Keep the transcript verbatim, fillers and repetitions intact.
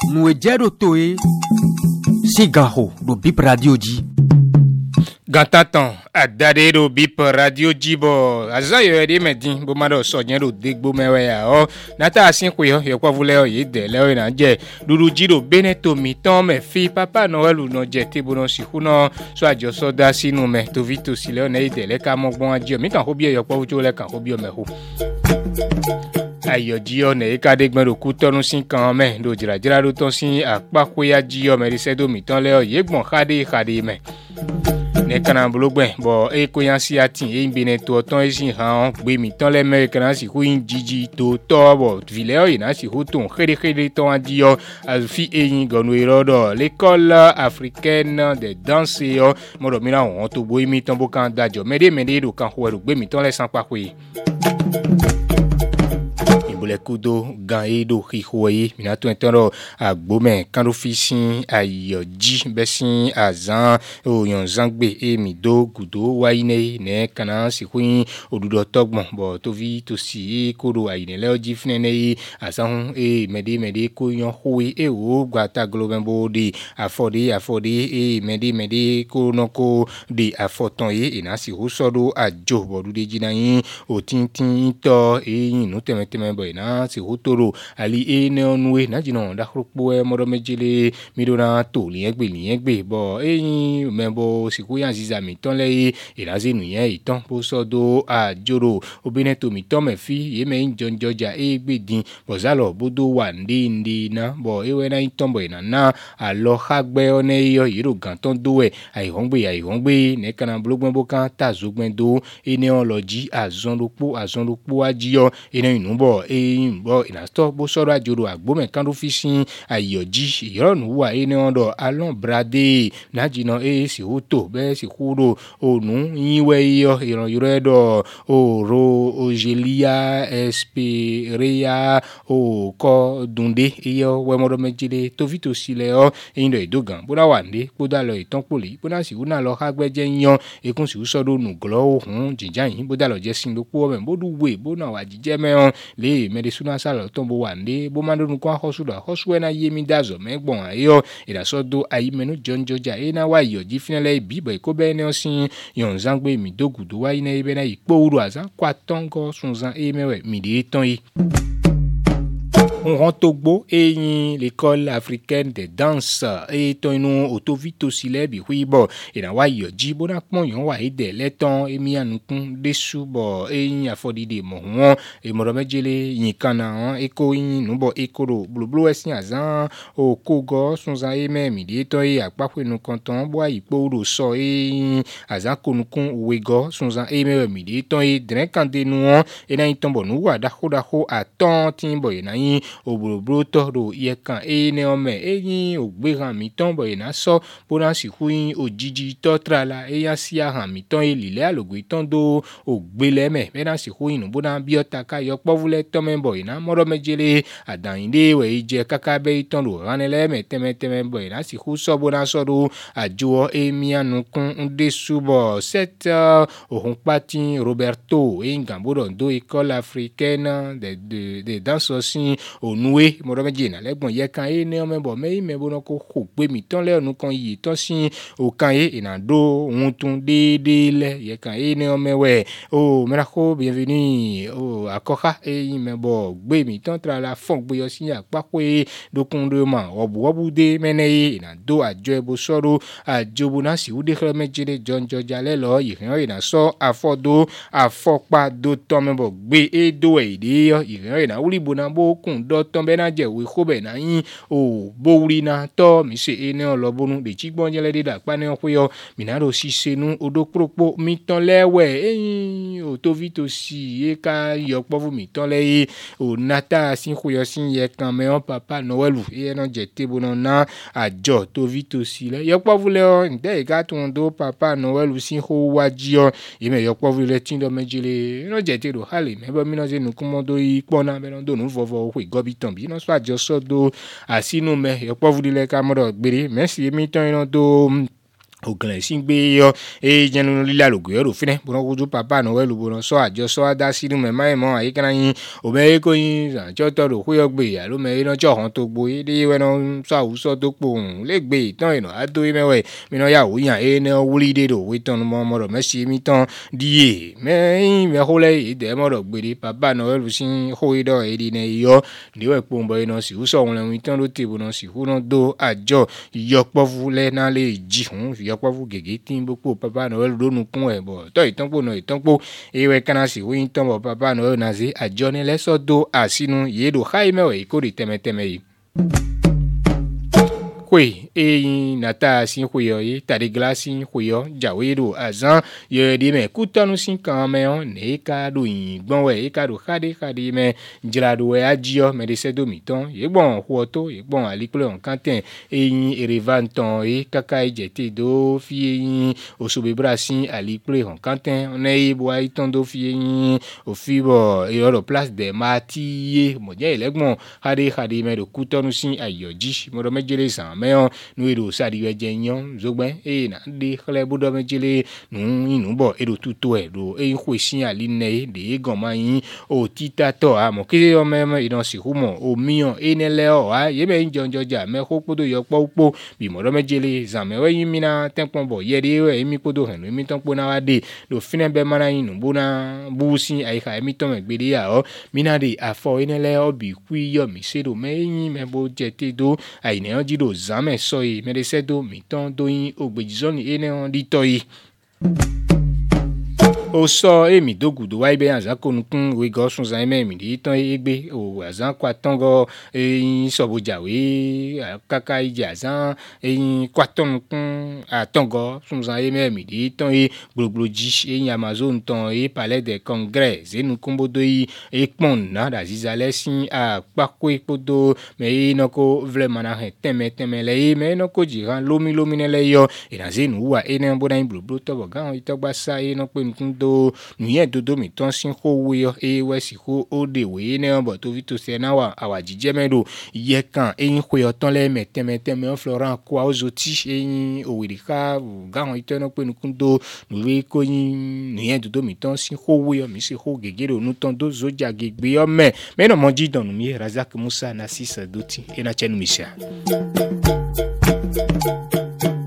nous ejero toe sigaho do bip radio ji Gantantan adade do bip radio jibo azayo ede medin bo ma do so yen do degbo mewe ya o nata asin ku yo yo kwa vule o ye de le o na je duru jiro beneto mi ton me fi papa noel no je te bo no si ku no so ajo so da sinu me to vito si le o na ide le ka mo gbon ajo mi kan ho bi yo kwa vujo le kan ho bi o me ho ayo jio ne ka de gbon ku tonu sin kan me do jira jira do ton sin apa ko ya jio me ri se do mi ton le o ye gbon khade khade me ne kana blogbe bo e ko yan si atin e nbene to ton e sin han gbe mi ton le me kana si ku yin jiji to to bo vile o ina si hu ton khede khede ton adio afi e yin gonu irodo l'école africaine de danse yo mo do mi na won to bo mi ton bo kan dajo mede mede do kan ho gbe mi ton le san pa ko yi le kudo gan edo hihoye minato entero agbome kando fisin ayoji besin azan oyan zangbe e mido gudo waine ne kana sikuin odudo togbon bo to vi to si kodo aine le oji fnene azan e mede mede ko yan howe e o gbata globen body afode afode e mede mede ko noko de afoton ye inasi hosodo ajo bodu de jinayin o tintin to e yin teme teme bo na si hotoro ali e ne onwe na jino da khrupo e moro mejele midona to li egbe li egbe bo eyin membo siku yan ziza mi ton le e la zenu yen itan bo sodo ajoro obineto mi ton me fi ye me njon joja e gbe din bo zalo bodo wa ndi ndi na bo ewe na itan bo ina na alo khagbe one yo yiro gan ton do e ai hongbe ai hongbe ne kana blogbon bo kan ta zogben do e ne oloji azon lopo azon lopo ajiyo e ne inu bo e bo ina sto bo soro ajoro agbome kan fi sin ayoji ironu wa ene ondo alon brade najino e si hoto be si kuro onu yiwe yo iron yuredo oro ojelia esperia o ko dunde iyo we modo mejide to vito sile o indo edogan bo da wande bo da lo itan poli bo na si una lo hagbeje yan ekun si usodo nu glo ohun jinjan yin bo da lo je sin lo po me bo du we bo na wa jije me on le me de suna sala tombo wande bo mando nu kwa hosuda hosuwe na yemi dazo me gbon ayo ida sodo ayi menu jonjoja e na wa yo jifinele bibo e ko be ne osin yon zangbe mi dogudu wa ina ibe na ipo uru azan kwa tongo sunzan e mewe mi de ton yi on rentogbo et l'école africaine de danse et tonu autovito silebi huibo et na wa yo jibo na pon yon wa ide leton e mi anukun desu bo e afodi de mo won e mo mejele yin kana e ko yin nubo e koro blublu esin azan o kogo sunza e me mi de to e apapo nu kanton bo ipo ro so e azan konukun wego sunza e me mi de to e dren kande nu e na itombo nu wa da ho da ho aton tin bo e na yin obrobro to ro ye kan e ne ome eyin ogberan mi ton bo ina so bona si huin ojiji to trala e ya si ahan mi ton elile alogo iton do ogbele me me na si huin bona biota ka yo povule to me bo ina moro mejele adainde we je kakabe iton ro ranele me teme teme bo ina si hu so bona so ro ajo e mi anukun de subo set ohun patin Roberto e ngamboro do école africaine de de de danse aussi onue moro meje na legbon ye kan e ne o mebo me me bo no ko ko pe mi ton le onu kan yi ton sin o kan e ina do ohun tun deede le ye kan e ne o mewe o mera ko bienvenue o akoka e mebo gbe mi ton tra la fon gbe yo sin apa ko e dokun do ma obu obu de mene e ina do ajo ebo soro ajo bo na si u de kre meje de jon joja le lo yi ran ina so afodo afopa do ton mebo gbe e do e de yo yi ran ina uri bo na bo kun do ton be na je we ko be na yin o bo uri na to mi se ene olobonu de chigbon je le de da pa ne o yo mi na ro si senu odo propo mi ton lewe eyin o to vito si e ka yo povu mi ton le o nata sin ko yo sin ye kan me on papa noelu e na je te bo na ajo to vito si le yo povu le o nde ga tun do papa noelu sin ho waji o e me yo povu le tin do mejele no je te do hale me bo mi no je nu kumodo i pona be no do nu vovo ko gobiton bi no so ajo so do asinu me yo povu le ka mo do gbere merci mi ton ino do ògùnlẹ̀ sí gbé yọ e jẹnu lílà lògùn ẹrù fínẹ bọ́nà kojú papa noel bọ́nà sọ àjọ sọ adá sínú mẹ́má ẹ̀ mọ́ àyíká yín òmẹ́ kó yín àjọ tọrọ kó yọ gbé àlómẹ́ iná tí ọ̀hún tó gbó yé dé wẹ́nà sọ àwùsọ tó pò ń lè gbé ìtàn ìnà àdó mẹ́wẹ́ mìíràn yà wòyàn ẹ̀ ní wúlí dé dò wé tán mọ́ mọ́rọ̀ mẹ́sì mi tán díye mẹ́yìn mẹ́kólẹ́ ìdẹ́ mọ́rọ̀ gbére papa noel sí hóyè dọ̀ èdè ní iyọ́ níwẹ̀ pòǹbọ̀ iná sì húsọ̀ wọn lẹ́wọ̀n ìtàn ló tè bọ́nà sì húnà dó àjọ ìyọpọ̀fù lẹ́nà lè jì hùn ìyọpọ̀fù gègé tí ń boko papa noel lónú kún ẹ̀ bọ̀ tọ́ ìtọ́npọ̀ náà ìtọ́npọ̀ ewé kanasi wí tán bọ̀ papa noel náà ṣe àjọ ní lẹ́sọ̀dọ̀ àsínú yéèdò háìmẹ́wẹ̀ ìkórè tẹ́mẹ́tẹ́mẹ́ yìí. kwe eyin nata sin kweyo ye tade glasin kweyo jawedo azan ye de me kutanu sin kan me on ne ka do yin gbon we e ka do khade khade me jirado we ajio me de sedo miton ye gbon huoto ye gbon alikle on kanten eyin erevanton e kaka ejete do fi eyin osobe brasin alikle on kanten on e bo aiton do fi eyin ofibo e oro place de matiye mo je elegbon khade khade me do kutanu sin ayoji mo do mejele san meon nu edo sadi we jenyon zogben e na de khle budo mejele nu inu bo edo tuto e do e khwesin aline de gan mayin o tita to a mo ke o me idan si humo o miyan enele o a ye be njonjoja me ko podo yo popo bi mo do mejele zan me we yin mina tempon bo ye de we mi podo han mi ton po na wa de do fine be mana yin nu bona busin ai ka mi ton me gbede ya o mina de afo enele o bi kwi yo mi sedo me yin me bo jete do ai ne o jido zame soyi meresedo miton doyin ogbejizoni ene on ditoyi o sọ èmi dógùdó wáyé bẹ́ẹ̀ àzákónukún ìwé gọ́sùn zayimẹ́ mi ní tán égbé o àzán kwatọ́ngọ́ eyín sọ̀bọ̀jàwé kàkà ìjì àzán eyín kwatọ́nukún àtọ́ngọ́ sùn zayimẹ́ mi ní tán é gbòlògbòlòjì eyín amazon tán é palais de congrès zénu kúnbódó yìí ékpọ̀n náà dàzíza lẹ́sìn àpákó ìkpódó mẹ́ iná kó vlẹ̀ mana hẹ̀ tẹ́mẹ́tẹ́mẹ́ lẹ́yìn mẹ́ iná kó jìrán lómi lómi nẹ́lẹ́yọ ìrànzénu wà iná bódà yín gbòlògbòlò tọ̀bọ̀ gáwọn ìtọ́gbàsá iná pé nukún do nuye dodo mi ton sin ko wo e we si ko o de we ne bo to vi to se na wa awaji jemedo ye kan eyin ko yo ton le metemete Florent ko ozoti eyin owirika gawon itono pe nukun do nuwe ko yin nuye dodo mi ton sin ko wo mi se ko gegere onu ton do zoja gegbe yo me me no mo ji donu mi Razak Musa Nassis Doti e na chenu mi sha